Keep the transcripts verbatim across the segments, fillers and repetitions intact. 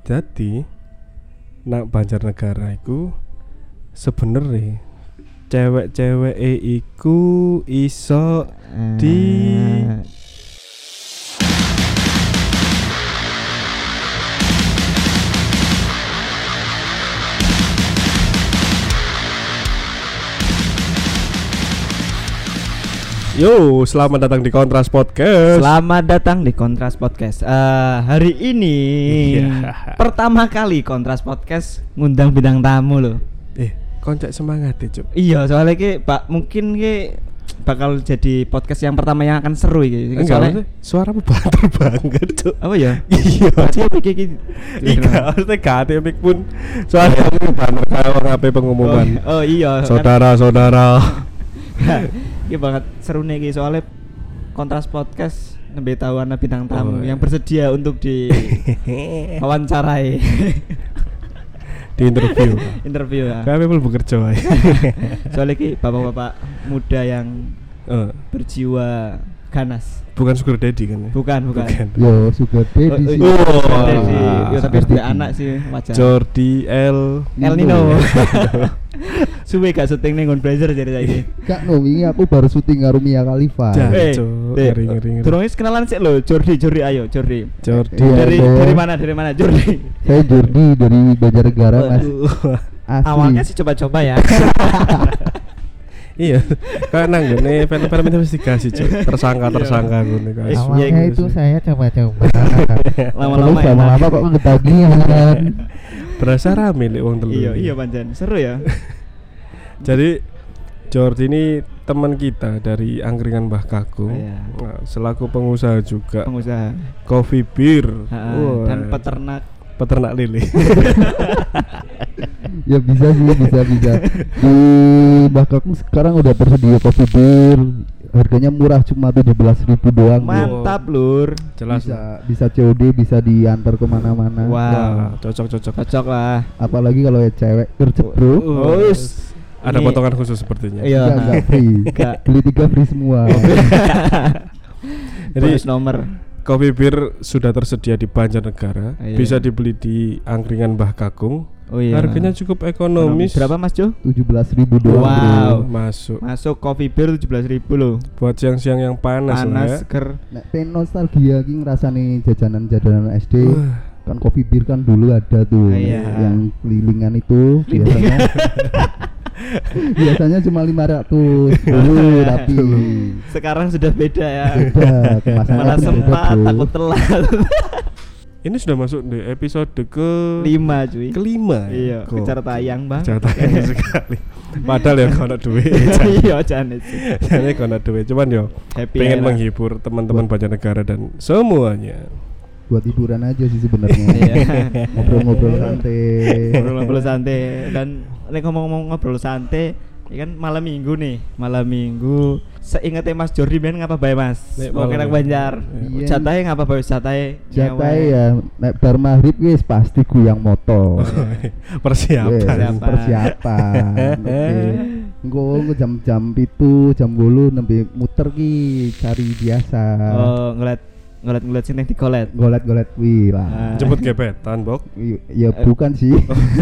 Jadi nak Banjarnegara iku sebenere cewek-cewek e iku iso di Yo, selamat datang di Kontras Podcast. Selamat datang di Kontras Podcast. Uh, hari ini yeah. pertama kali Kontras Podcast ngundang bintang tamu loh. Eh, koncak semangat ya, Cuk. Iya, soalnya ki Pak mungkin ki bakal jadi podcast yang pertama yang akan seru iki. Soalnya suaramu banter banget, Cuk. Apa ya? Iya. Pasti iki iki. Iya, harusnya gak ada mic pun. Soalnya aku banter kayak orang ape pengumuman. Oh, oh iya. Saudara-saudara. Iya banget seru nih iki soalnya Kontras Podcast nembe tahu ana bintang tamu oh, yang bersedia untuk di wawancarai. Di interview. Interview ya. Kayak people bekerja ae. Soalnya ki bapak-bapak muda yang uh. berjiwa ganas. Bukan sugar daddy kan? Bukan, bukan. bukan. Yo, sugar daddy sih. Oh, oh, sugar daddy. Yo tapi ada anak sih wajar. Jordi L El Nino. Suwe gak syuting ning Gon Blazer jadi saiki. Gak no, ini aku baru syuting karo Mia Khalifa. Eh, ngeri ngeri. Durung wis kenalan sik lho, Jordi, Jordi ayo, Jordi. Jordi dari dari mana? Dari mana, Jordi? Saya Jordi dari Banjarnegara, Mas. Awalnya sih coba-coba ya. Iya, karena nggone film-film investigasi, Cuk. Tersangka-tersangka ngene guys. Awalnya itu saya coba-coba. Lama-lama lama-lama kok ketagihan. Berasa rame lek wong telu. Iya, iya pancen. Seru ya. Jadi Jordi ini teman kita dari Angkringan Mbah Kakung. Iya. Nah, selaku pengusaha juga. Pengusaha Coffee beer. Wow. Dan peternak peternak lele. Ya bisa sih, bisa bisa. Di Mbah Kakung sekarang udah tersedia coffee beer. Harganya murah cuma tujuh belas ribu doang. Mantap, Lur. Jelas. Bisa bisa C O D, bisa diantar kemana mana. Wow. Nah, cocok cocok. Cocok lah. Apalagi kalau ya cewek gercep, Bro. Oh, oh, ada ini potongan khusus sepertinya. Iya, enggak free. Enggak. Beli tiga free semua. Jadi nomor Coffee beer sudah tersedia di Banjarnegara. Iya. Bisa dibeli di Angkringan Mbah Kakung. Oh iya. Harganya cukup ekonomis. Berapa Mas Jo? tujuh belas ribu doang. Wow. Bro. Masuk. Masuk coffee beer tujuh belas ribu loh. Buat siang-siang yang panas, panas ya. seger. Nek pengen nostalgia ki ngrasani jajanan-jajanan S D. Uh. Kan coffee beer kan dulu ada tuh. Iya. Yang kelilingan itu biasanya. Biasanya cuma lima ratus dulu, tapi sekarang sudah beda ya. Beda, kemasannya mana sempat takut telat. Ini sudah masuk di episode ke lima cuy. Kelima. Iya, kejar tayang bang. Kejar tayang sekali. Padahal ya kalau duit. Iya, jangan sih. Jangan kalau duit, cuman yo pengen menghibur teman-teman Banjarnegara dan semuanya. Buat hiburan aja sih sebenarnya. Ngobrol-ngobrol santai. Ngobrol-ngobrol santai dan nek ngomong-ngomong ngobrol santai, ya kan malam minggu nih, malam minggu. Seingatnya Mas Jordi ben ngapa bae Mas? Mau kena Banjar. Iya. Jatahe ngapa bae jatahe? Jatahe ya nek bar maghrib wis pasti guyang motor. Persiapan. Yes, persiapan. Oke. Engko jam-jam itu, jam bolu nembe muter ki cari biasa. Oh, ngeliat ngeliat-ngeliat sini di golet. Golet-golet wih lah. Jemput gebetan, Bok. Ya bukan sih.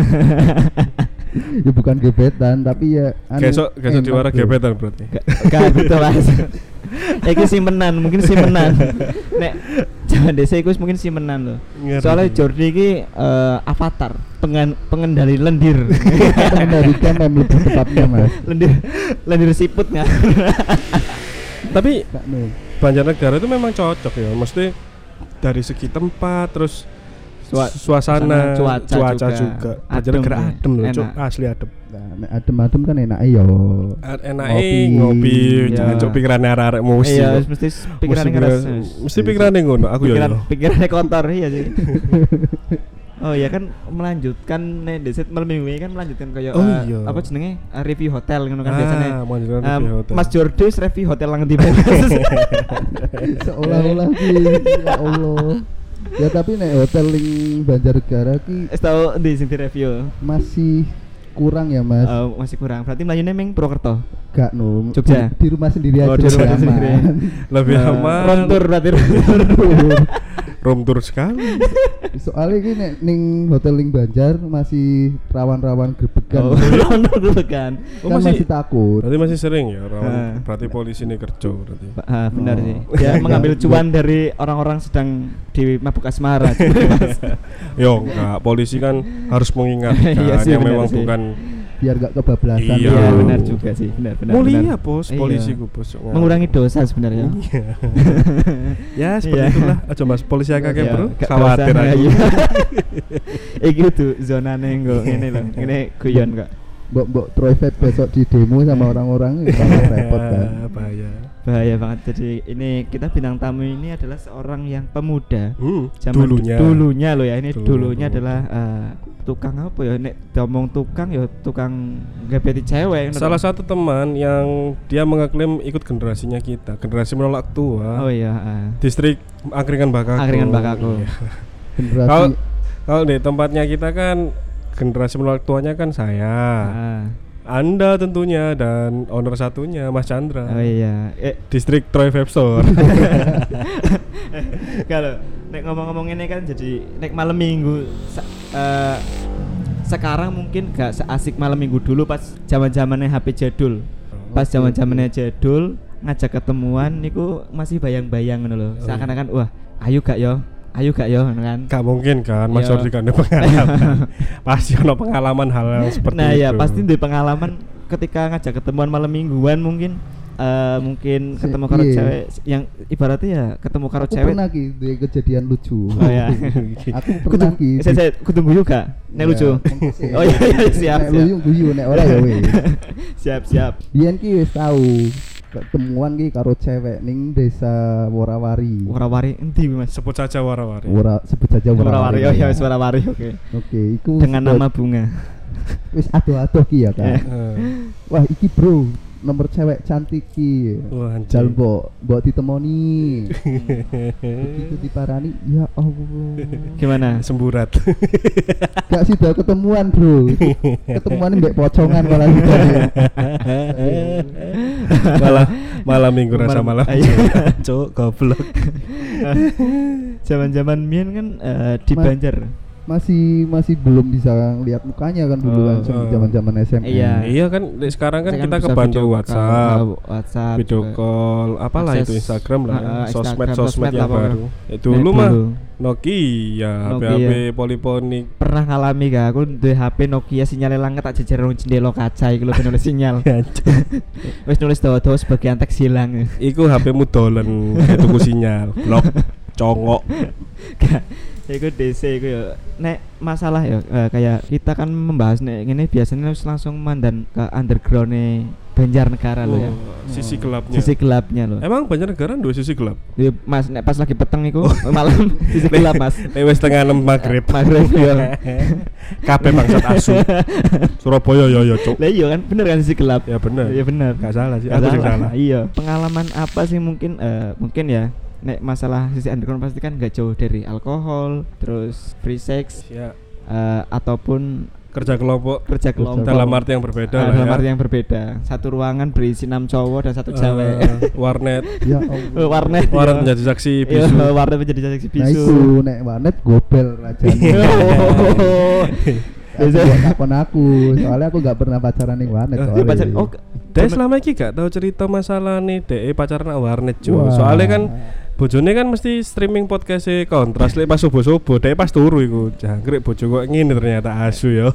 Ya bukan gebetan tapi ya anu, Gesok gesok diwara gebetan berarti. Gak betul Mas. Iki simpenan, mungkin simpenan. Nek jangan desa iku mungkin simpenan loh. Soalnya Jordi iki uh, avatar pengen, pengendali lendir. Pengendali kamem lebih tepatnya Mas. Lendir lendir siput enggak? Tapi Banjarnegara itu memang cocok ya. Mesti dari segi tempat terus Sua, suasana, cuaca, cuaca juga, juga. Banjarnegara adem loh, Cuk, asli adem. Nah, adem-adem kan enak yo. Enake ngopi, jangan cuk pikirane arek-arek musik. Iya, mesti pikirane keras. Mesti pikirane ngono, aku yo. Pikirane kotor iya sih. Oh iya kan melanjutkan nih deset malam minggu ini kan melanjutkan kayak oh, uh, iya. apa jenenge uh, review hotel ngono kan ah, biasanya. Um, hotel. Mas Jordi review hotel lang di seolah-olah ki ya Allah. Ya tapi nek hotel ling Banjarnegara ki wis tau ndi sing direview masih kurang ya Mas. Uh, masih kurang. Berarti mlayune ming Purwokerto. Gak no. Jogja. Di, di rumah sendiri aja. Oh, di rumah sendiri. Lebih aman. Rontur berarti rontur. room tour sekali. Soalnya ini nek ning hotel ning Banjar masih rawan-rawan grebegan. Oh, rawan grebegan. Oh, kan masih, masih takut. Berarti masih sering ya rawan. Uh. Berarti polisi ini kerja berarti. Ah, benar oh. sih. Dia mengambil cuan dari orang-orang sedang di mabuk asmara. Yo, enggak, polisi kan harus mengingatkan iya sih, yang memang sih. Bukan biar gak kebablasan. Iya, ya, benar juga sih, benar benar. Mulia bos, polisi iya. ku bos. Mengurangi dosa sebenarnya. Ya, seperti iya. itulah. Aja Mas, polisi akeh iya. bro. Khawatir aku. Iki tuh zonane nggo ngene lho. Ngene guyon kok. Mbok-mbok Troyfed besok di demo sama orang-orang bakal repot kan. Bahaya. Bahaya banget. Jadi ini kita bintang tamu ini adalah seorang yang pemuda. Hmm, zaman dulunya. Dulunya loh ya. Ini Dulu. dulunya adalah uh, tukang apa ya? Nek ngomong tukang ya tukang gebeti cewek. Salah satu teman yang dia mengeklaim ikut generasinya kita, generasi menolak tua. Oh iya. Uh. Distrik Angkringan Bakako. Angkringan Bakako. Generasi. Kalau kalau di tempatnya kita kan generasi menolak tuanya kan saya. Uh. Anda tentunya dan owner satunya Mas Chandra. Oh iya. Eh. Distrik Troy Vape Store. Kalau nek ngomong-ngomong ini kan jadi nek malam minggu sa- uh, sekarang mungkin gak seasik malam minggu dulu pas zaman-zamannya H P jadul. Pas zaman-zamannya jadul ngajak ketemuan niku masih bayang-bayang ngono lho. Seakan-akan wah, ayo gak yo? Ayo gak yo kan? Gak mungkin kan, Mas Jordi kan ada pengalaman. Pasti ada pengalaman hal yang seperti nah, itu. Nah ya pasti ada pengalaman ketika ngajak ketemuan malam mingguan mungkin uh, mungkin ketemu karo iya. cewek yang ibaratnya ya ketemu karo aku cewek. Aku pernah ki duwe kejadian lucu. Oh ya. Aku pernah ki. Saya saya kudu guyu gak? Nek ya, lucu. Oh iya iya siap. Nek lucu guyu nek ora ya wis. Siap siap. Biyen ki wis tau ketemuan ki karo cewek ning desa Worawari. Worawari endi Mas? Sebut saja Worawari. Wora sebut saja Worawari. Worawari. Oh ya wis Worawari oke. Okay. Oke, okay, iku dengan nama bunga. Wis ado-ado ki ya kan. Wah, iki bro, nomor cewek cantik ki. Jal mbok, mbok ditemoni. Begitu diparani, ya Allah. Gimana? Semburat. Gak sih dah ketemuan, bro. Ketemuan mbek pocongan malah sudah. malah malam minggu rasa malam. Cuk, goblok. Zaman-zaman mien kan uh, di Ma- Banjar. Masih masih belum bisa lihat mukanya kan dulu kan oh, zaman-zaman S M P. Iya, iya kan sekarang kan kita kebantu WhatsApp, WhatsApp, video call, apalah itu Instagram lah, uh, ya. sosmed sosmed yang baru. Itu dulu mah Nokia, H P H P poliponik. Pernah ngalami gak aku duwe H P Nokia sinyalnya langet tak jejer nang jendela kaca iki lho ben nulis sinyal. Wis nulis dawa-dawa sebagian teks hilang. Iku H P-mu dolen tuku sinyal, blok, congok. Iku D C iku ya nek masalah ya uh, kayak kita kan membahas nek ngene biasanya harus langsung mandan ke underground-e Banjarnegara oh, lo ya. Sisi gelapnya. Sisi gelapnya lo. Emang Banjarnegara dua sisi gelap? Ya Mas nek pas lagi peteng iku oh. malam sisi gelap Mas. Nek wis tengah enam magrib. Magrib yo. Kabeh bangsat asu. Surabaya yo yo cuk. Lah iya kan bener kan sisi gelap. Ya bener. Iya bener. Enggak salah sih. Aku sing salah. Iya. Pengalaman apa sih mungkin uh, mungkin ya nek masalah sisi underground pasti kan gak jauh dari alkohol, terus free sex, ya. uh, ataupun kerja kelompok, kerja kelompok dalam arti yang berbeda, uh, lah dalam ya. arti yang berbeda. Satu ruangan berisi enam cowok dan satu uh, cewek. Warnet, ya Allah. warnet, warnet ya. Menjadi saksi bisu. Ya, warnet menjadi saksi bisu. Nah itu nek warnet gobel rajane. Biasa takon aku, soalnya aku gak pernah pacaran ning warnet soalnya. Pacar, oh, Dek selama iki gak tahu cerita masalah nih Dek pacaran nang warnet jo. Soalnya kan bojone kan mesti streaming podcast-e Kontras lek pas subuh-subuh, Dek pas turu iku. Jangkrik bojo kok ngene ternyata asu ya.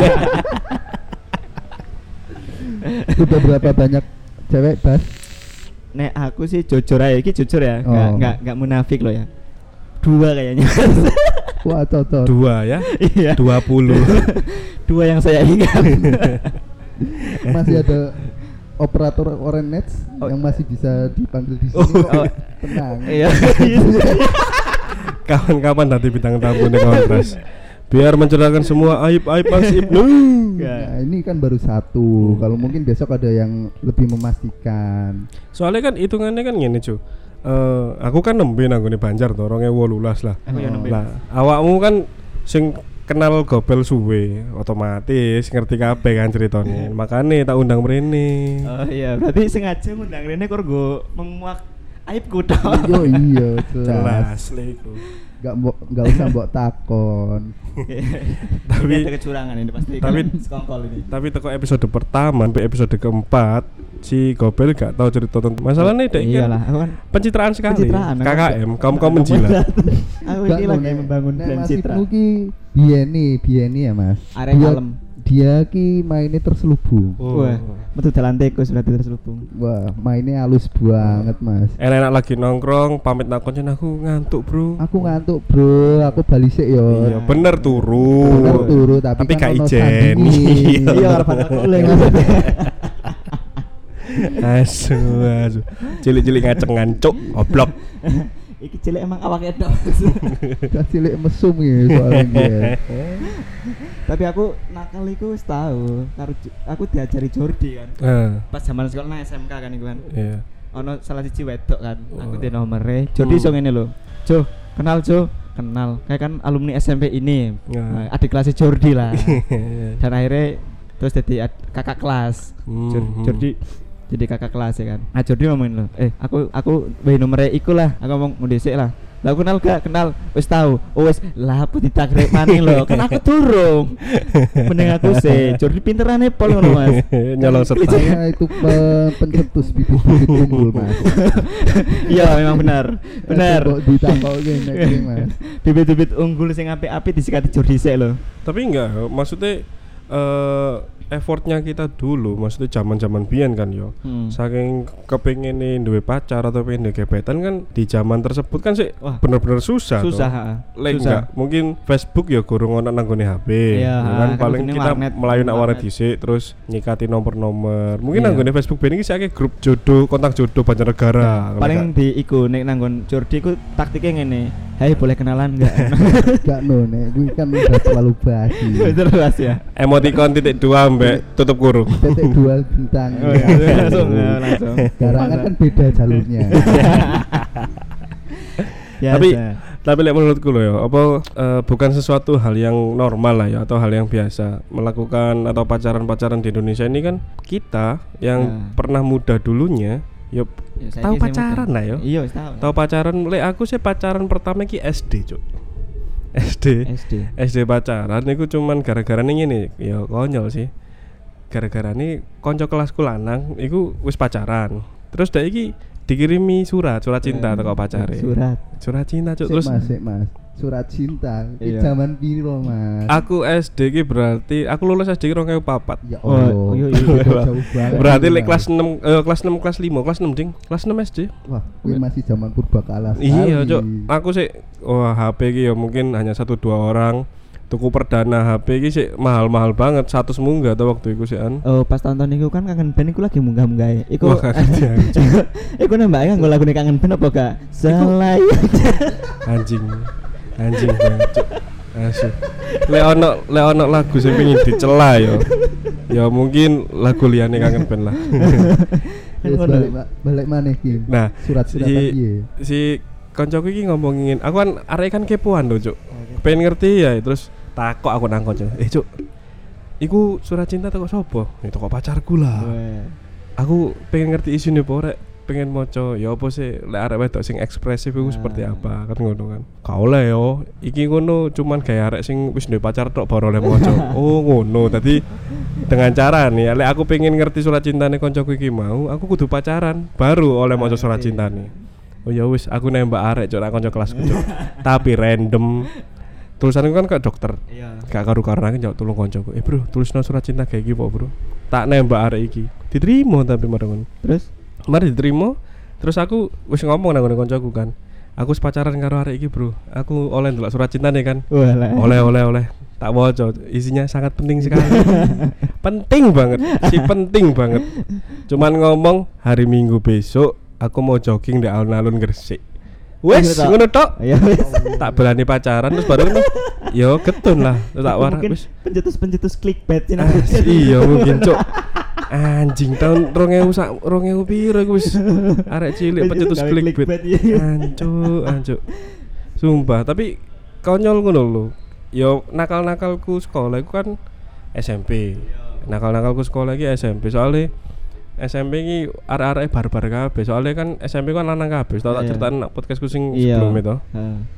Sudah berapa banyak cewek, Bas? Nek aku sih jujur aja, iki jujur ya, oh. Gak, gak, gak munafik loh ya. Dua kayaknya. Wah, cocok. Dua ya? Iya. Dua puluh. Dua yang saya ingat. Masih ada operator Orange oh. yang masih bisa dipanggil di sini. Oh. Tenang. Iya. Kapan-kapan nanti bintang tamu nih Kontras. Biar mencerahkan semua aib-aib Mas Ibnu. Nah, ini kan baru satu. Kalau mungkin besok ada yang lebih memastikan. Soalnya kan hitungannya kan gini cu. Uh, aku kan nembe nang ngene Banjar to dua ribu wolulas lah. Aku ya nembe. Lah, awakmu kan sing kenal gobel suwe, otomatis ngerti kabeh kan ceritanya. Makane tak undang mrene. Oh iya, berarti sengaja ngundang rene kok nggo menguak aibku tok. Yo iya, jelas. Jelas lho iku. Enggak mbok enggak usah mbok takon. Tapi ada kecurangan ini pasti. Tapi sekongkol ini. Tapi teko episode pertama sampai episode keempat si Gobel gak tahu cerita tentang masalahnya dek iyalah aku kan pencitraan sekali pencitraan, K K M kaum kaum menjilat. Aku iki lagi membangun brand citra. Mas iki biyen biyen ya Mas. Arek kalem. Dia ki mainnya terselubung. Oh. Wah, metu dalan tikus berarti terselubung. Wah, mainnya halus banget, Mas. Enak lagi nongkrong, pamit nak koncen aku ngantuk, Bro. Aku ngantuk, Bro. Aku bali sik yo. Iya, bener turu. Bener turu tapi, tapi kan gak ijen. Iya, arep oleh. Asu, asu. Cilik-cilik ngacengan, cuk, goblok. Iki cilik emang awake tok. Gak cilik mesum ya soalnya. Tapi aku nakal iku wis tau. Karo aku diajari Jordi kan. Uh. Pas zaman sekolah nang S M K kan iku kan. Iya. Yeah. Ono salah siji wedok kan. Oh. Aku di nomere. Jordi hmm. iso ngene lho. Jo, kenal Jo. Kenal. Kayak kan alumni S M P ini. Yeah. Nah, adik kelasnya Jordi lah. Dan akhirnya terus jadi kakak kelas. Hmm. Jordi jadi kakak kelas ya kan. Nah Jordi ngomongin lo, eh aku aku bayi nomornya iku lah. Aku ngomong mau desek lah. Lah kenal gak? Kenal. Wis tahu. Oh wis lah aku ditakrek maning lo. Kan aku durung. Mending aku sih. Jordi pinterane pol ngono Mas. Nyolong serta. Saya itu pencetus bibit-bibit unggul Mas. Iya memang benar. Benar. Kok ditampoke nek Mas. Bibit-bibit unggul sing apik-apik disikati Jordi sik lo. Tapi enggak, maksudnya uh, effortnya kita dulu, maksudnya zaman-zaman biyen kan yo. Hmm. Saking kepengin duwe pacar atau pengen duwe gebetan kan di zaman tersebut kan sih bener-bener susah. Susah. Like susah. Enggak, mungkin Facebook ya gurung ono nang gone H P. Ya, kan paling kita melayu nak warnet dhisik terus nyikati nomor-nomor. Mungkin nang gone Facebook ben iki saiki grup jodoh, kontak jodoh Banjarnegara. Ya, paling di iku nek nang nggon Jordi ku taktiknya ngene. Hai boleh kenalan enggak? Enggak no nek kuwi kan udah terlalu basi. Terlalu basi ya. Emoticon titik dua mbek tutup kurung. Titik dua bintang. Oh, ya, langsung ya, langsung. Garangan kan beda jalurnya. Tapi tapi lek menurutku loh ya, apa uh, bukan sesuatu hal yang normal lah ya atau hal yang biasa melakukan atau pacaran-pacaran di Indonesia ini kan kita yang ya. Pernah muda dulunya Yo, ya, tahu pacaran lah yo. Iya, tahu. Tahu pacaran, lek aku sih pacaran pertama ki S D, Cuk. S D. S D. S D pacaran niku cuman gara-gara ning ngene, ya konyol sih. Gara-gara nih konco kelasku lanang iku wis pacaran. Terus dak iki dikirimi surat, surat cinta teko pacare. Surat. Surat cinta, Cuk. Terus Mas, Mas. Surat cinta di iya. Zaman piro Mas? Aku S D ki berarti aku lulus S D ki dua ribu empat. Ya Allah. Oh, iya, iya, jauh banget. Berarti lek kelas enam eh, kelas enam kelas lima, kelas enam ding. Kelas enam S D. Wah, kuwi masih zaman purbakala. Iya, Cuk. Aku sih wah H P ki ya mungkin hanya satu dua orang. Tuku perdana H P ki sih mahal-mahal banget, satu munggah ta waktu iku sih an. Oh, pas tonton iku kan Kangen Band iku lagi munggah-munggah. Iku iku nembake nganggo lagune Kangen Band apa gak? Selai. Anjing. Anjing banget. Asyik. Lek ono lek ono lagu sing pengin dicela yo. Ya mungkin lagu liyane Kangen Band lah. Wis balik balik maneh iki. Nah, surat-surat si, piye? Si koncoku iki ngomongin, aku kan arek kan kepoan lho, Cuk. Pengen ngerti ya, terus takok aku nang konco. Eh, Cuk. Iku surat cinta teko sapa? Ya teko pacarku lah. Aku pengen ngerti isine apa rek. Pengen moco ya apa sih lek arek wedok sing ekspresif iku seperti apa kan ngono kan. Ka oleh yo, iki ngono cuman gaya arek sing wis duwe pacar tok baru oleh moco. Oh ngono. Dadi dengan cara nih lek aku pengen ngerti surat cintane koncoku iki mau, aku kudu pacaran baru oleh moco surat cintane. Oh ya wis aku nembak arek cok nang kanca kelasku cok. Tapi random. Tulisanku kan kayak dokter. Iya. Gak karu-karuan aku njawab tolong koncoku. Eh bro, tulisno surat cinta kayak iki po, Bro. Tak nembak arek iki. Diterima tapi marang. Terus mari diterima. Terus aku wis ngomong nang koncoku kan. Aku sepacaran karo arek iki, Bro. Aku oleh ndelok surat cintane kan. Oleh oleh oleh. Tak waca, isinya sangat penting sekali. Penting banget, si penting banget. Cuman ngomong hari Minggu besok aku mau jogging di alun-alun Gresik. Wes ngono tok. Ya wis. Tak berani pacaran terus baru ngono. Yo ketun lah. Tak warak wis. Pencetus-pencetus clickbait ini. Iya mungkin, Cuk. Anjing tahun dua ribu sak dua ribu piro iku wis arek cilik pencetus clickbait. Ancuk, ancuk. Sumpah, tapi konyol ngono lho. Yo nakal-nakalku sekolah iku kan S M P. Nakal-nakalku sekolah iki S M P soalnya S M P iki arek-arek barbar kabeh. Soalnya kan S M P kan lanang kabeh. Tau tak ceritain nak podcastku sing sebelum itu. Heeh.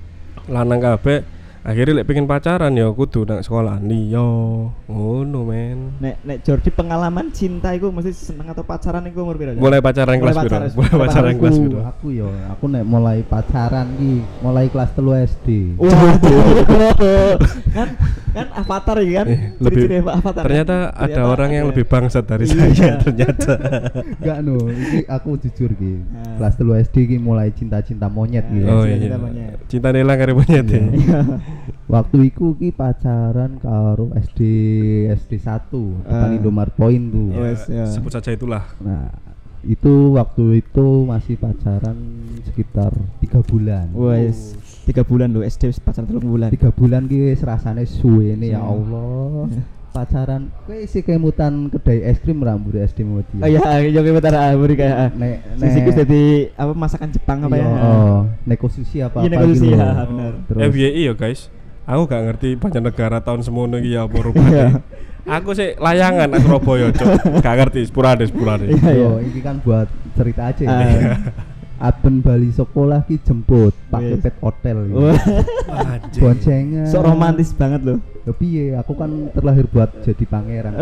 lanang kabeh akhirnya lek pengen pacaran ya kudu nang sekolah liya ngono men. Nek nek Jordi pengalaman cinta iku mesti seneng atau pacaran iku umur piro? Mulai pacaran kelas piro? Mulai pacaran kelas piro? Aku yo aku nek mulai pacaran ki mulai kelas telu S D. Waduh. kan kan avatar iki kan. Lebih avatar. Ternyata kan? Ada ternyata orang yang lebih bangsat dari saya ternyata. Enggak no, ini aku jujur ki. Nah. Kelas telu S D ki mulai cinta-cinta monyet gitu. Oh iya. Cinta monyet. Cinta nelang karo monyet ya. Waktu iku ki pacaran karo S D S D satu depan uh, Indomaret Point tuh. Yes, ya. Sebut saja itulah. Nah, itu waktu itu masih pacaran sekitar tiga bulan. Wes, tiga bulan loh S D pacaran tiga bulan. tiga bulan ki rasane suwene ya Allah. Pacaran kowe isi kemutan kedai es krim rambut S D Modi. Oh iya, yo kemutan rambut kayak nek nek sik dadi apa masakan Jepang apa ya? Oh, neko sushi apa apa gitu. Iya, neko sushi ya, bener. F Y I ya guys. Aku gak ngerti Banjarnegara tahun semono iki ya apa rupane. Aku sih layangan nang Surabaya, Cuk. Gak ngerti, sporadis, sporadis. Yo, ini kan buat cerita aja ya. Aben bali sekolah ki jemput pakai pet hotel gitu. Boncengan. Sok romantis banget loh. Ya piye, aku kan terlahir buat jadi pangeran.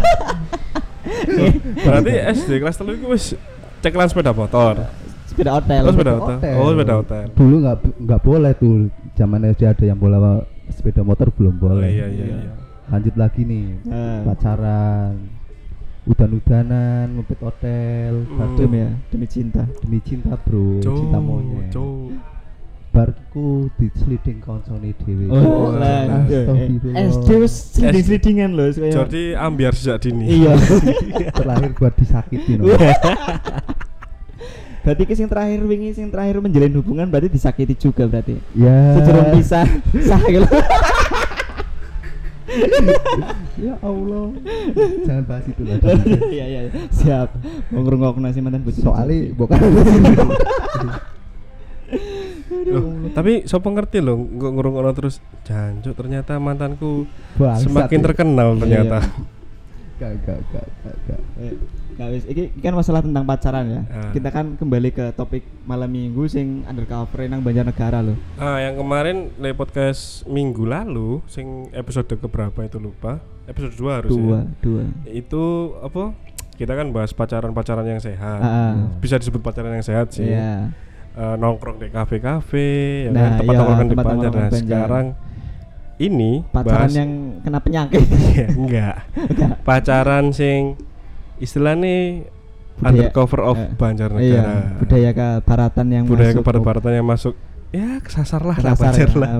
Berarti S D kelas telu iku wis cekelan sepeda motor. Sepeda hotel. Oh, sepeda hotel. Oh, sepeda hotel. Dulu enggak enggak boleh tuh. Zaman S D ada yang bola sepeda motor belum boleh. Oh, iya iya iya. Lanjut lagi nih. Uh. Pacaran. Udan-udanan, ngepet hotel, hmm. demi ya, demi cinta. Demi cinta, Bro. Jo, cinta monyet. Jo. Barku diseliding koncone dhewe. Oh, lah. S D wis sliding-slidingan lho kaya. Jadi ambiar sejak dini. Iya. Terlahir buat disakiti no. Berarti ki sing terakhir wingi sing terakhir menjalin hubungan berarti disakiti juga berarti. Ya. Sejurung pisah. Sah gitu. Ya Allah. Jangan bahas itu lah. Iya iya. Siap. Mau ngrungokno sih mantan bojo. Soale bukan. Loh, tapi sapa ngerti loh kok ngrungokno terus jancuk ternyata mantanku bangsat semakin ya. Terkenal ternyata. Gak gak gak gak. Gak wis iki kan masalah tentang pacaran ya. Ah. Kita kan kembali ke topik malam minggu sing undercover nang Banjarnegara loh. Ah, yang kemarin le podcast minggu lalu sing episode keberapa itu lupa. Episode dua harusnya. Dua, dua. Itu apa? Kita kan bahas pacaran-pacaran yang sehat. Ah. Bisa disebut pacaran yang sehat sih. Yeah. Uh, nongkrong di kafe-kafe, ya nah, kan tempat iya, nongkrong di tempat Banjar. Nah, sekarang ini pacaran bahas yang kena penyakit. Enggak. Pacaran sing istilahnya undercover of uh, Banjarnegara. Iya, budaya kebaratan yang budaya masuk. Budaya kebaratan yang masuk. Ya, kesasar lah, kesasar ya, lah.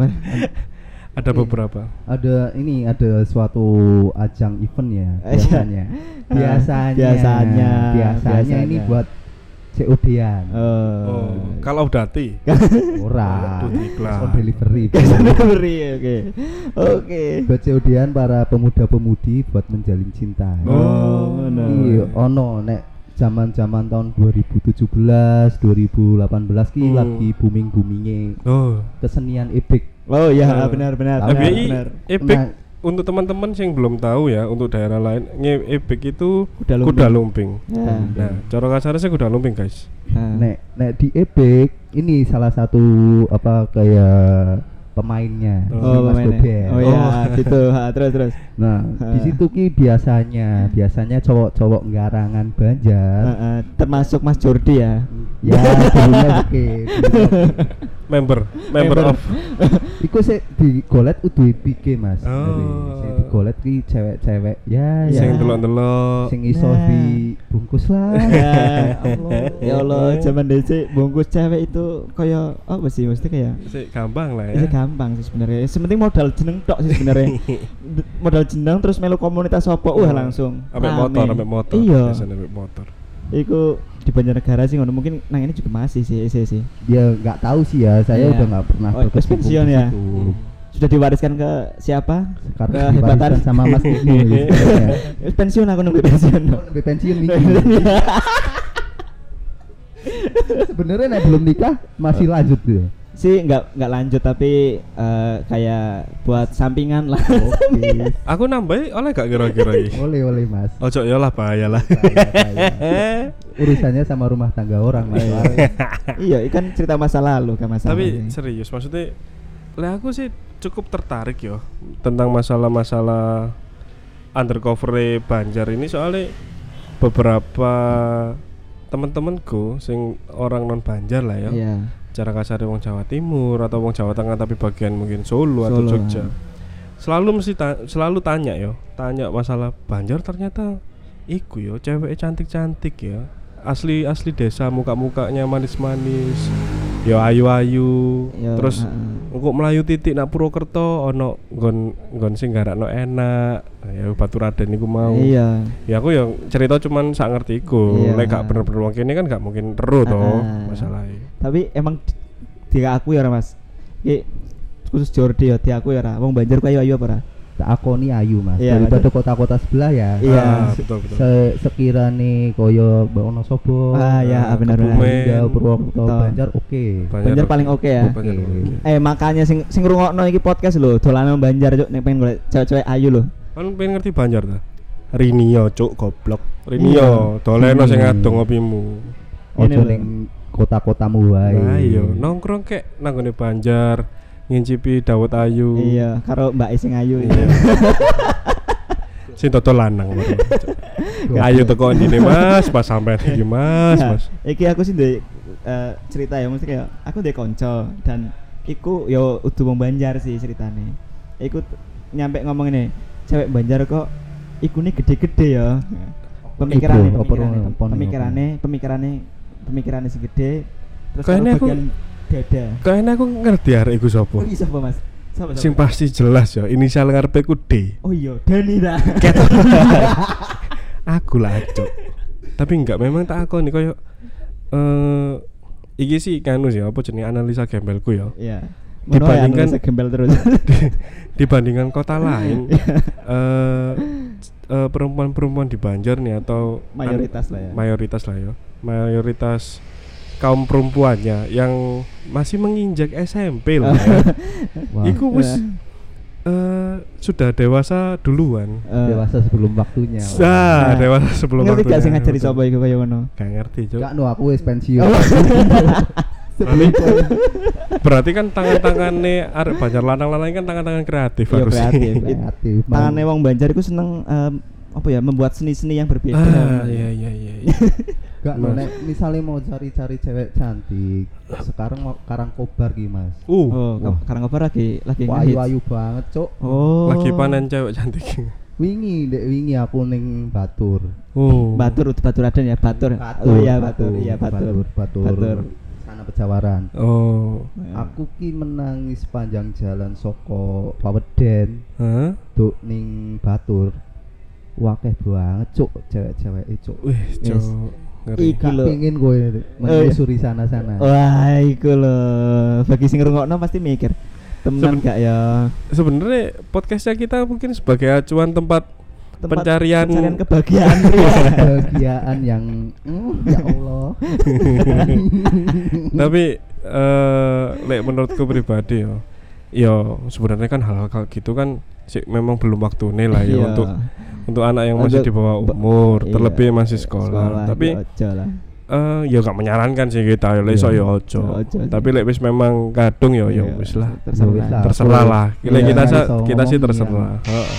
Ada beberapa. Ada ini ada suatu ajang event ya biasanya. biasanya. Biasanya. Biasanya, biasanya ini buat C O D-an. Uh. Oh, kalau Dati. Ora. On delivery. Delivery, oke. Oke. Buat C O D-an para pemuda-pemudi buat menjalin cinta. Oh, no. Iya, ono nek zaman-zaman tahun dua ribu tujuh belas, dua ribu delapan belas ki hmm. lagi booming-boomingnya. Oh, kesenian ebek. Oh iya, benar-benar. F Y I ebek. Nah, untuk teman-teman yang belum tahu ya, untuk daerah lain, ebek itu kuda lumping. Kuda lumping. Ya. Nah, cara kasarnya kuda lumping, guys. Nah. Nek nek di ebek ini salah satu apa kayak pemainnya. Oh, pemainnya. Oh ya, gitu. Ha, terus terus. Nah, ha. Di situ ki biasanya biasanya cowok-cowok nggarangan Banjar. Uh, uh, termasuk Mas Jordi ya. Ya, dulunya oke. member, member of. Iku sih digolet U D B K Mas. Oh. Sing digolet ki cewek-cewek ya ya. Sing delok-delok. Sing iso nah. dibungkus lah. Ya Allah. Ya Allah, zaman dhisik bungkus cewek itu kaya apa sih mesti kayak sik gampang lah ya. Sik gampang sih sebenarnya. Sepenting modal jeneng tok sih sebenarnya. Modal jeneng terus melu komunitas apa wah langsung. Ambek motor, ambek motor. Iya. Biasanya ambek motor. Iku di Banjarnegara sih ngono mungkin nang ini juga masih sih sih sih. Dia enggak tahu sih ya, saya yeah. udah enggak pernah oh, pensiun ya. Hmm. Sudah diwariskan ke siapa? Sekarang diwariskan sama Mas Niki. Ya. Pensiun aku nunggu pensiun. Nunggu pensiun Niki. Sebenarnya nek belum nikah masih lanjut tuh. Sih enggak enggak lanjut tapi uh, kayak buat sampingan lah. Oke. Aku nambahin oleh gak kira-kira ini? Oleh oleh Mas. Ojo ya lah bahaya lah. Urusannya sama rumah tangga orang Mas. Iya, ikan cerita masa lalu kan masa. Tapi lalu. Serius maksudnya Lah aku sih cukup tertarik yo tentang masalah-masalah undercover Banjar ini, soalnya beberapa teman-temanku sing orang non Banjar lah ya. Iya. Cara kasar wong Jawa Timur atau wong Jawa Tengah tapi bagian mungkin Solo, Solo atau Jogja. Nah. Selalu mesti ta- selalu tanya yo, tanya masalah Banjar ternyata iku yo cewek cantik-cantik ya. Asli asli desa, muka-mukanya manis-manis. Yo ayu-ayu. Yo, terus engko melayu titik nak Purwokerto ono nggon nggon sing garakno enak. Ya Baturaden niku mau. Iya. Ya aku yang cerita cuman sak ngerti iku. Iya. Lek gak bener-bener wong kene kan gak mungkin teru to masalahnya. Tapi emang di aku ya Mas. Iki khusus Jordi ya di aku ya ora. Wong Banjar ku ayu-ayu apa ora? Tak akoni ayu Mas. Iya, daripada kota-kota sebelah ya. Iya, ah, betul betul. Se- sekiranya koyo Wonosobo, ah ya benar benar. Purwokerto, Banjar oke. Okay. Banjar, Banjar paling oke okay ya. Okay. Okay. Eh makanya sing sing ngrungokno iki podcast lho, dolanan Banjar cuk nek pengen golek cewek-cewek ayu lho. Kan pengen ngerti Banjar ta? Rinio cuk goblok. Rinio doleno sing adong ngopimu. Ojo ning kota-kotamu wae. Nah iya, nongkrong kek nang ngene Banjar. Ngincipi Dawet Ayu. Iya, karo Mbak Ising Ayu. Iya. Sing toto lanang baru. Ayo teko ndine Mas, pas sampean iki Mas, nah, Mas. Iki aku sih ndek uh, cerita ya, mesti kayak aku ndek kanca dan iku yo udu wong Banjar sih ceritane. Iku t- nyampe ngomong ini, cewek Banjar kok ikune gede-gede ya. Pemikirannya, pemikirannya, pemikirannya, pemikirannya, pemikirannya sing gede. Terus kayaknya aku dada. Kayaknya aku ngerti arek iku sapa. Oh, iya sapa Mas? Sapa? Sing pasti jelas ya, inisial ngarepe ku D. Oh iya, Dani ta. Aku lah, Cok. Tapi enggak, memang tak akoni koyo eh uh, iki sih kanu sih apa jenenge analisa gembelku ya. Iya. Dibandingkan gembel terus. Dibandingkan kota lain eh uh, uh, perempuan-perempuan di Banjar nih atau mayoritas an- lah ya. Mayoritas lah ya. Mayoritas kaum perempuannya yang masih menginjak S M P lah ya. Iku wis uh, sudah dewasa duluan. Uh, dewasa sebelum waktunya. Nah, dewasa sebelum ngerti waktunya. Ngerti gak sing ngajari sapa iku kaya ngono? Gak ngerti, Cuk. Gak no, aku wis pensiun. berarti, berarti kan tangan-tangannya arek Banjar lanang-lanang kan tangan-tangan kreatif harus. Kreatif. kreatif. Tangannya wong Banjar iku seneng um, apa ya membuat seni-seni yang berbeda. Ah, iya iya iya. iya. Gak no, nek misalnya mau cari-cari cewek cantik, sekarang mau Karangkobar ki Mas. Uh, oh, uh. Karangkobar lagi lagi ayu-ayu banget, Cuk. Oh. Lagi panen cewek cantik. Wingi, dek wingi aku ning Batur. Oh. Batur, Baturaden ya, Batur. Batur. Oh iya, Batur. Iya, Batur. Batur. Batur. Sana Pejawaran. Oh. Aku ki menangis sepanjang jalan soko Paweden. Hah? Duk ning Batur. Wakeh banget, Cuk, cewek-cewek itu. Wih, Cuk. Iki lho pengen kowe menyusuri sana-sana. Wah, iku lho. Bagi sing ngrungokno pasti mikir, temen Seben- gak ya? Sebenarnya podcastnya kita mungkin sebagai acuan tempat, tempat pencarian pencarian kebahagiaan. Kebahagiaan yang mm, ya Allah. Tapi eh lek menurutku pribadi ya. Ya sebenarnya kan hal-hal gitu kan sih memang belum waktunya lah ya untuk untuk anak yang masih di bawah umur, iya, terlebih masih sekolah. sekolah Tapi uh, ya gak menyarankan sih kita ya iso ya ojo. Tapi lek wis memang kadung ya ya wis lah. Terserah, terserah lah. Lek kita sa, kita sih terserah. Heeh.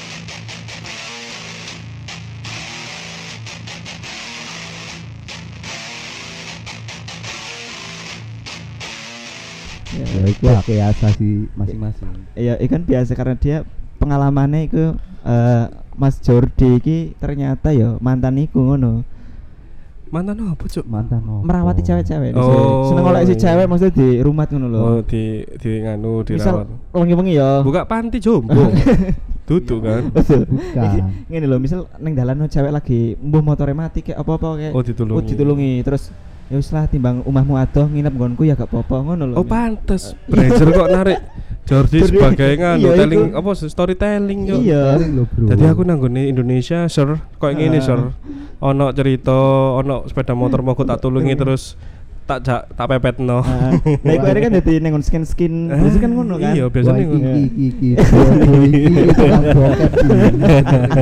Ya, ya itu pakai asasi masing-masing. Iya, ikan biasa karena dia pengalamannya itu uh, Mas Jordi iki ternyata ya mantan iku ngono. Mantan apa, Cuk? Mantan apa? Merawati cewek-cewek. Oh, seneng oleh si cewek maksudnya di rumah ngono lho. Oh, di di nganu dirawat. Misal wengi-wengi ya. Buka panti jombo. Duduk kan. Bukan. Ngene lho, misal ning dalan cewek lagi mbuh motore mati kayak apa-apa kayak. Oh, ditulungi. Oh, ditulungi. Terus ya wis lah timbang omahmu adoh nginep nggonku ya gak apa-apa ngono lho. Oh, pantes. Brazer kok narik Jordi sebagai nganu iya, telling apa storytelling yo. Iya. Jadi aku nanggone Indonesia, Sir. Kok ngene, uh. Sir. Ono cerita, ono sepeda motor mogok tak tulungi terus tak jak tak pepetno. Nah, iku arek kan dadi ning skin-skin, biasa kan ngono kan. Iya, biasane ngono. Iki iki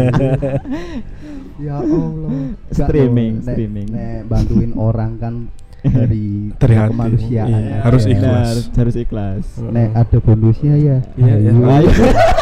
Ya Allah. Streaming, streaming. Nek bantuin orang kan dari dari hati. kemanusiaan. Iya, harus ya. ikhlas. Harus, harus ikhlas. Nek ada bonusnya ya. Iya, iya. Ayo.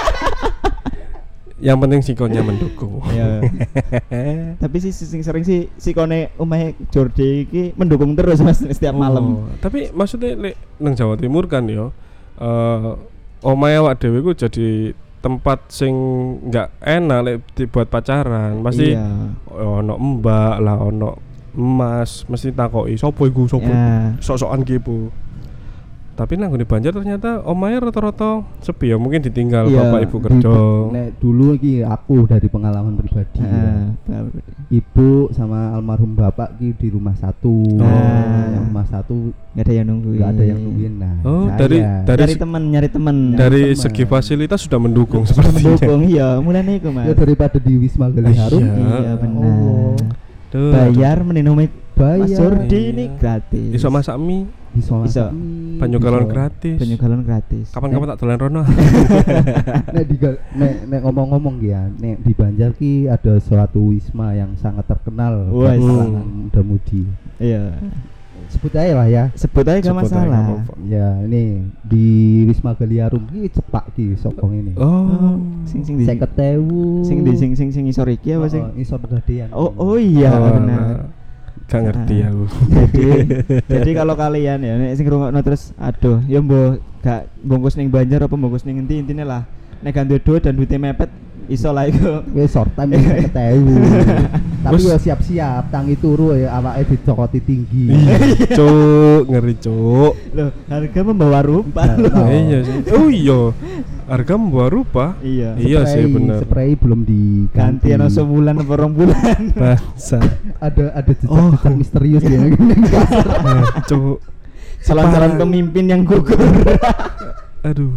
Yang penting sikonnya mendukung. Iya. Tapi sih sing sering sih sikone omahe Jordi iki mendukung terus Mas setiap malam. Oh, tapi maksudnya lek nang Jawa Timur kan yo eh omahe awak dhewe ku jadi tempat sing enggak enak lek dibuat pacaran. Pasti Iya. ono mbak lah, ono emas, mesti takoki sopo iku sopo. Ya. Sok-sokan kipu. Tapi nang nggone Banjar ternyata omahe rata-rata sepi ya, mungkin ditinggal Iya, bapak ibu kerja. Nek dulu iki aku dari pengalaman pribadi. Heeh. Ya. Ibu sama almarhum bapak ki di rumah satu. Oh. Yang rumah satu Enggak ada yang nungguin. enggak ada yang nungguin. Nah, Oh, saya dari dari Nyari teman, nyari teman. dari teman. segi fasilitas sudah mendukung sepertinya. Mendukung iya, mulane iku Mas. ya daripada di Wisma Gali Harum. Iya. Iya benar. Oh. Tuh, Bayar minum Mas Bayar. Jordi Iya. ini gratis. iso masak mie, Bisa Bisa. masak mie, banyu bisa. galon gratis. Banyu galon gratis. Kapan-kapan tak dolan rono. Nek di gal- nek nek ngomong-ngomong ya, nek di Banjar ki ada suatu wisma yang sangat terkenal Wes. di kalangan muda-mudi. Iya. Sebut aja lah ya. Sebut aja gak Sebut aja, masalah. nggak apa-apa. Ya, ini di Wisma Gali Harum ki cepak ki sokong ini. Oh, Sing sing di Seket ewu. sing di sing sing sing isor iki apa sing? Oh, isor gadean. Oh oh iya oh, benar. nah. Gak ngerti Ah. aku. Jadi jadi kalau kalian ya nek sing ngrungokno terus aduh ya mbok gak bungkus ning Banjar apa bungkus ning endi intine lah nek gak duwe duit dan duitnya mepet iso lah iku. Wis short time seket ewu. Tapi ya siap-siap tangi turu ya awake dicokoti tinggi. Cuk, ngeri cuk. Loh, harga membawa rupa Nah, loh. Oh. Iya sih. Oh iya. Harga membawa rupa. Iya. Iya sih, Spray- bener. Spray belum diganti. Ganti ana sebulan apa rong bulan. Bangsa. Ada ada jejak-jejak misterius ya. Cuk. Calon-calon Parah. pemimpin yang gugur. Aduh.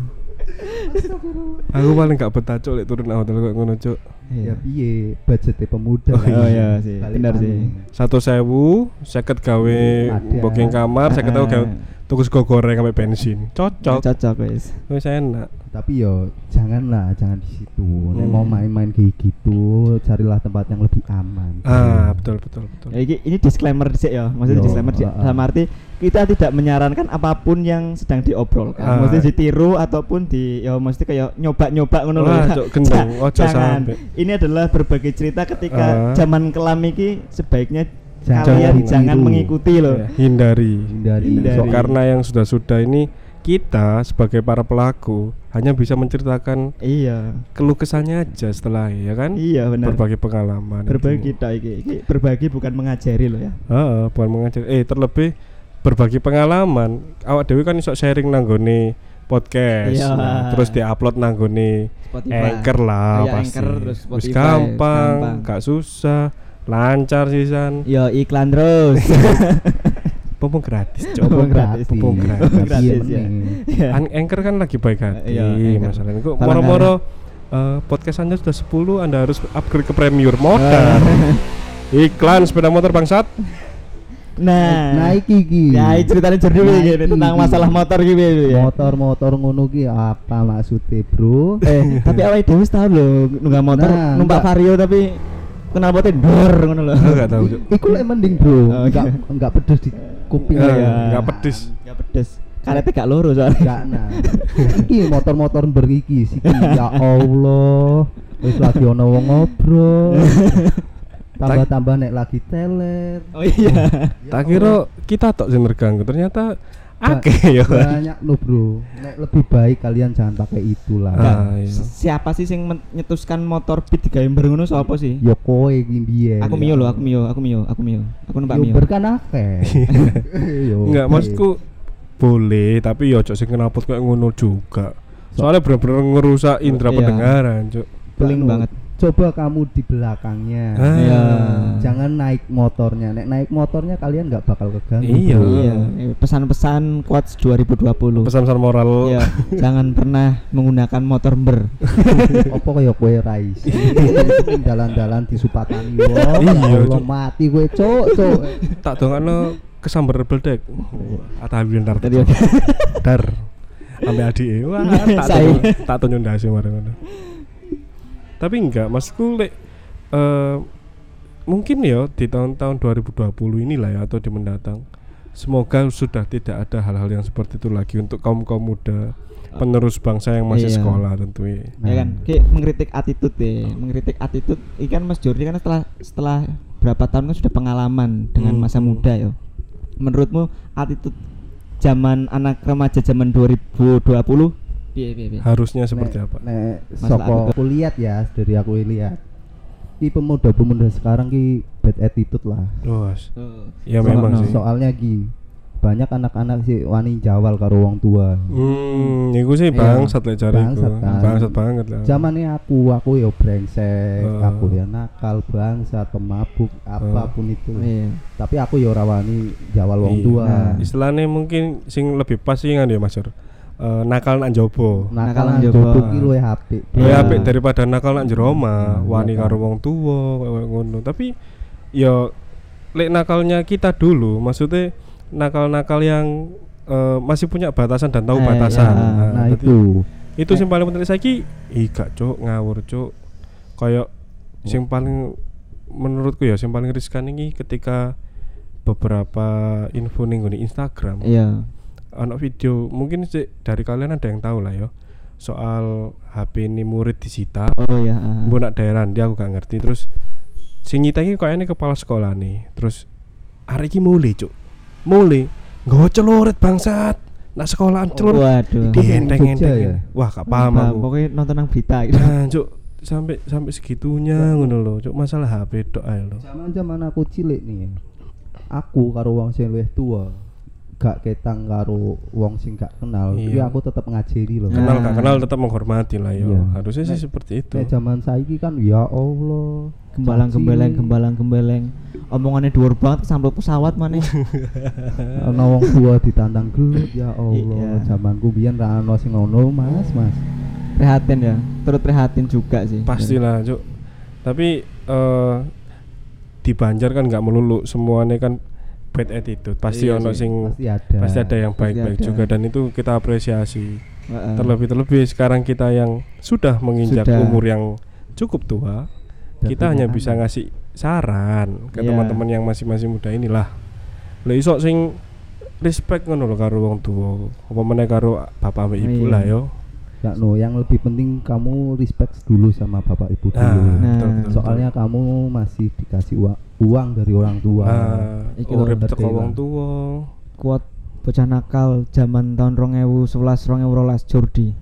Aku paling gak betah cuk lek turun hotel kok ngono cuk. Ya piye budgetnya pemuda. Oh, Oh iya sih, Balik benar lagi. sih. Satu sewu, seket gawe Ada. booking kamar, seket tahu gawe Ah. tuku sego goreng sampai bensin. Cocok. Cocok wis. Wis enak. Tapi yo janganlah, jangan di situ. Nek Hmm. mau main-main kayak gitu, carilah tempat yang lebih aman. Ah, betul betul betul. Ya, ini, ini disclaimer sih ya, maksudnya Yo, disclaimer di, uh, uh. dalam arti kita tidak menyarankan apapun yang sedang diobrolkan, Ah. maksudnya ditiru ataupun di, ya mesti kayak nyoba-nyoba ngono loh. Wah, ya. cok, gendong. Ja- Ojo Jangan. sampai. Ini adalah berbagai cerita ketika Ah. zaman kelam iki sebaiknya Jangan kalian ditiru. jangan mengikuti loh. Ya, hindari. Hindari. Hindari. So, karena yang sudah-sudah ini kita sebagai para pelaku hanya bisa menceritakan Iya, keluh kesahnya aja setelah ya kan. iya benar. Berbagi pengalaman. Berbagi itu. kita iki, iki berbagi bukan mengajari loh ya. Heeh, bukan mengajar. Eh, terlebih berbagi pengalaman. Awak dewe kan iso sharing nanggone podcast. Iya. Nah, terus diupload nanggone Spotify. Anchor lah Iya, pasti. Anchor, terus Wis Spotify, gampang, gampang. gak susah, lancar sisan. Yo iklan terus. Mumpung gratis, Oh, Cok. gratis. Mumpung gratis. Tapi Gratis, ya ya. meneh. Iya. An- Anchor kan lagi baik hati. Iya, Anchor. Masalahnya kok Paling moro-moro eh, podcast Anda sudah sepuluh, Anda harus upgrade ke premium modal. Iklan sepeda motor bangsat. Nah, Nah iki iki. ya ini ceritanya Jordi Nah, iki, iki, tentang iki. masalah motor gitu ya. Motor-motor ngono ki apa maksudnya, Bro? Eh, tapi awake dhewe wis tau lho nunggang motor, Nah, numpak enggak. Vario tapi kenal potnya dor ngono lho. Aku gak tahu, Cok. Iku lek mending, Bro. Oh, Enggak iya. enggak pedes di kuping. Eh, ya. Enggak pedes. Enggak pedes. Karete gak loro soalnya. Enggak nah. Iki motor-motor beriki siki. Ya Allah. Wis lagi ono wong ngobrol. Tambah-tambah nek lagi teler. Oh iya. Tak kira kita tok sing terganggu, ternyata akeh ya. Banyak no, Bro. Nek lebih baik kalian jangan pakai itulah. Ah, iya. Siapa sih sing men- nyetuskan motor beat digawe mber ngono sapa sih? Yo kowe iki biyen. Aku mio lho, aku mio, aku mio, aku mio. Aku numpak Yo mio. berkan akeh. Yo. Enggak, maksudku boleh, tapi ya ojo sing knalpot kayak ngono juga. Soalnya bener-bener ngerusak indera Iya. pendengaran, Cuk. Beling Anu, banget. Coba kamu di belakangnya. Ah. Iya. Jangan naik motornya. Nek naik motornya kalian nggak bakal keganggu. Iya. Bro. Iya, eh, pesan-pesan quotes dua ribu dua puluh. Pesan-pesan moral. Iya, jangan pernah menggunakan motor ber. Apa kaya kowe rais. Ning dalan-dalan disupatani wong. Iya, Allah Cuk. mati kowe, Cuk, Cuk. Tak dongakno kesambar beldek. Atahlilan dar. Tadi Dar. Ambil adike. Wah, tak Saya. tunjuk- tak tunjuk ndase marang ngono. Tapi enggak, maksudku lek eh, mungkin ya di tahun-tahun dua ribu dua puluh inilah ya atau di mendatang semoga sudah tidak ada hal-hal yang seperti itu lagi untuk kaum-kaum muda penerus bangsa yang masih iya. sekolah tentunya. Ya kan, kayak mengkritik attitude deh, mengkritik attitude. Ikan Mas Jordi kan setelah setelah berapa tahun kan sudah pengalaman dengan hmm. masa muda ya. Menurutmu attitude zaman anak remaja zaman dua ribu dua puluh piye piye piye? Harusnya seperti nek, apa? Nek soko aku lihat ya, dari aku lihat. Ki pemuda-pemuda sekarang ki bad attitude lah. Oh, uh. ya so, memang no. sih. Soalnya ki banyak anak-anak sih wani jawal karo wong tua. Hmm, iku sih bangsat lek jariku. Bangsat, kan. bangsat banget lah. Zamane aku, aku yo brengsek, uh. aku ya nakal, bangsat, pemabuk, apapun uh. itu. Iya. Tapi aku yo ora wani jawal wong iya. tua. Nah, istilahnya mungkin sing lebih pas sih kan ya Mas Sur. Uh, nakal nak jopo. Nakal nak jopo ki luwih apik. Luwih apik daripada nakal nak jero omah, wani karo wong tuwa koyo ngono. Tapi ya lek nakalnya kita dulu, maksudnya nakal-nakal yang uh, masih punya batasan dan tahu eh, batasan. Ya. Nah, nah itu. Itu sing paling penting saiki, ih gak cuk ngawur cuk. Kayak sing paling menurutku ya sing paling riskan iki ketika beberapa info ning Instagram. Iya. Ono video mungkin sih dari kalian ada yang tahu lah ya soal H P ini murid disita. Oh ya. Uh. Mbok nak daerah dia aku gak ngerti. Terus sing nyita iki kayaknya kepala sekolah nih. Terus arek iki mulai cuk. Mulai nggo celurit bangsat. Nak sekolahan celurit. Waduh. Dienteng-enteng. Ya? Wah, gak paham nah, aku. Pokoknya nonton nang berita gitu. Nah, cuk sampai sampai segitunya ngono lho. Cuk masalah H P tok ae lho. Zaman-zaman aku cilik nih. Aku karo wong sing luwih tua. Gak ketang karo wong sing gak kenal, tapi iya. aku tetap ngajari loh. Kenal gak kenal tetap menghormati lah yo. Iya. Harusnya sih nah, seperti itu. Nek zaman saiki kan ya Allah, gembalang-gembeleng gembalang-gembeleng. Omongannya dhuwur banget sampai pesawat maneh. Ana wong tua ditantang gelut ya Allah. Iya. Zamanku biyen ra ono sing ngono, Mas, Mas. Prihatin ya, turut prihatin juga sih. Pastilah, Cuk. Tapi uh, di Banjar kan enggak melulu semuanya kan bad attitude, pasti iya ono sing pasti ada. pasti ada yang baik-baik juga dan itu kita apresiasi. Uh-uh. Terlebih-terlebih sekarang kita yang sudah menginjak sudah. umur yang cukup tua, dan kita hanya bisa ngasih saran ke yeah. teman-teman yang masih-masih muda inilah. Lha iso sing respect ngono lho karo wong tua, apa meneh karo bapak mbek ibu lah yo. Ya no, yang lebih penting kamu respect dulu sama bapak ibu dulu. Nah, nah, betul, betul, soalnya betul. Kamu masih dikasih uang, uang dari orang tua. Nah, urip teko wong tua. Kuat bocah nakal zaman tahun dua ribu sebelas dua ribu dua belas Jordi.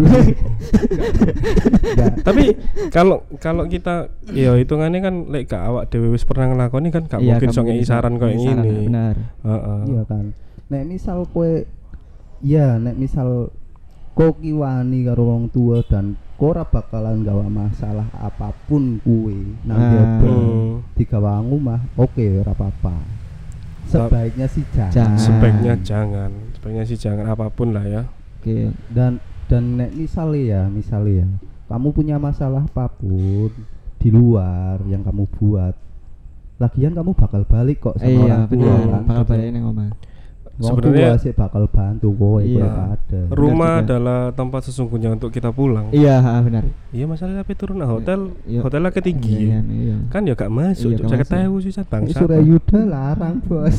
Tapi kalau kalau kita ya hitungannya kan lek gak awak dhewe wis pernah nglakoni kan gak iya, mungkin sok ngeki saran koyo ngene. Benar. Heeh. Iya kan. Nek misal kowe ya nek misal kok kiwani karo wong tua dan ora bakalan gawa masalah apapun kuwe nang jopo hmm. digawangu mah oke okay, ora apa-apa. Sebaiknya sih jangan. jangan. Sebaiknya jangan. Sebaiknya sih jangan apapun lah ya. Oke. Okay. Dan dan nek misalnya ya, misalnya ya, kamu punya masalah apapun di luar yang kamu buat, lagian kamu bakal balik kok sama eh, orang iya, tua kan. Bakal balik ning omah. Sebenarnya sih bakal bantu kowe iya. ada. Rumah adalah tempat sesungguhnya untuk kita pulang. Iya, benar. Iya, masalah tapi turun nah hotel, iya. hotelnya ketinggi. Iya, iya. Kan ya gak masuk, iya, saya ketahui sih bangsa. Surayuda larang, Bos.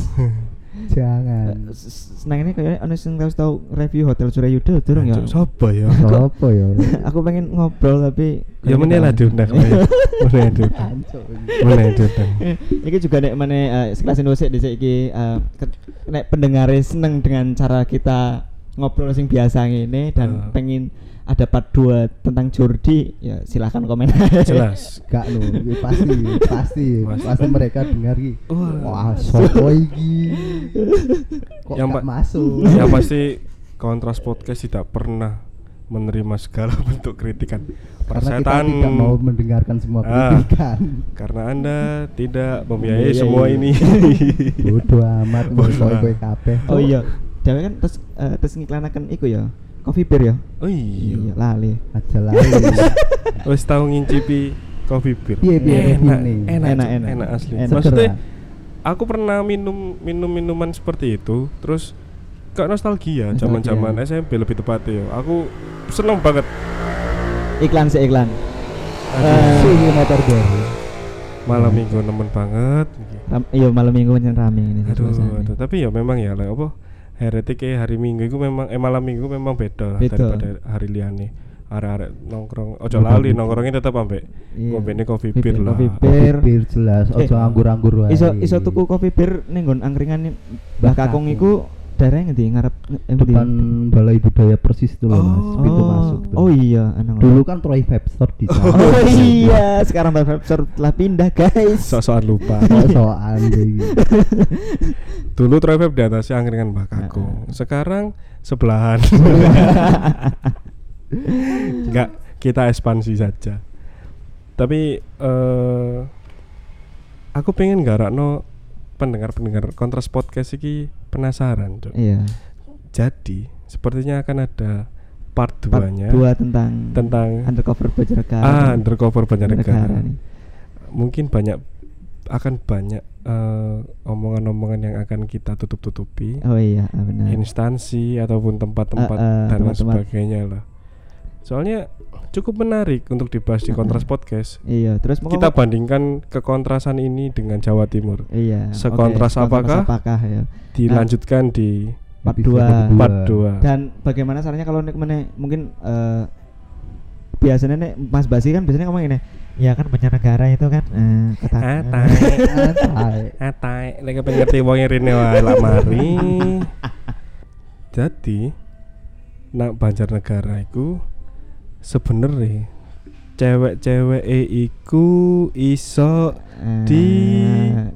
Jangan. Senang ini kayaknya ana sing tahu review hotel Surayuda durung ya. Sopo ya? Sopo ya? Aku pengen ngobrol tapi ya meneh lah diundang. Meneh diundang. Meneh diundang. Iki juga nek meneh sekelas Indonesia dhisik iki nek pendengare seneng dengan cara kita ngobrol sing biasa ngene dan pengen ada part dua tentang Jordi ya silakan komen. Jelas. Gak lho, pasti pasti pasti mereka dengar iki. Wah, sopo iki. Kok yang gak pa- masuk. Yang pasti Kontras Podcast tidak pernah menerima segala bentuk kritikan. Karena kita tidak mau mendengarkan semua kritikan. Ah, karena Anda tidak membiayai semua ini. Bodoh amat kowe kabeh. Oh iya. Dewe kan terus uh, terus ngiklanaken iku ya. Coffee beer ya? Oh iya, iya lali. Aja lali. Wis tau ngincipi coffee beer. Piye piye enak, enak, enak, enak, enak asli. Enak. Maksudnya aku pernah minum minum minuman seperti itu, terus kayak nostalgia zaman-zaman S M P lebih tepatnya. Aku seneng banget. Iklan sih iklan. Uh, Sini motor baru. malam minggu nemen banget. Ram, iya malam minggu pancen rame ini. Aduh, aduh, tapi ya memang ya like, apa heretik hari minggu itu memang eh malam minggu memang beda, beda. daripada hari liane. Arek-arek nongkrong ojo lali nongkrongnya tetap ambek ngombene coffee beer lah. Coffee beer, beer jelas, ojo eh, anggur-anggur wae. Iso iso tuku coffee beer ning nggon angkringan Mbah Kakung iku daerah ngendi ngarep depan Balai Budaya Persis itu loh, oh, Mas. Pintu oh, masuk tuh. Oh iya, anang. Dulu kan Troy Vape Store di sana. Oh iya, sekarang Troy Vape Store telah pindah, guys. Sok-sokan lupa. Sok-sokan iki. Dulu Troy Vape di atas angkringan Mbah Kakung. Sekarang sebelahan. Enggak, kita ekspansi saja. Tapi uh, aku pengen garakno pendengar-pendengar Kontras Podcast iki penasaran, Cuk. Iya. Jadi, sepertinya akan ada part dua-nya. Part dua tentang tentang undercover Banjarnegara. Ah, undercover Banjarnegara. nih. Mungkin banyak akan banyak uh, omongan-omongan yang akan kita tutup-tutupi. Oh iya, benar. Instansi ataupun tempat-tempat uh, uh, dan lain sebagainya lah. Soalnya cukup menarik untuk dibahas di Kontras Podcast. Iya, terus kita bandingkan kekontrasan ini dengan Jawa Timur. Iya. Sekontras okay. apakah? apakah ya. Dilanjutkan nah, di part dua. Part dua. Dan bagaimana caranya kalau nek meneh mungkin uh, biasanya nek Mas Basi kan biasanya ngomong ini. Ya kan Banjarnegara itu kan eh uh, atai atai atai lek pengen ngerti wong rene wae lak mari. Jadi nak Banjarnegara iku sebenarnya cewek-cewek e iku iso uh, di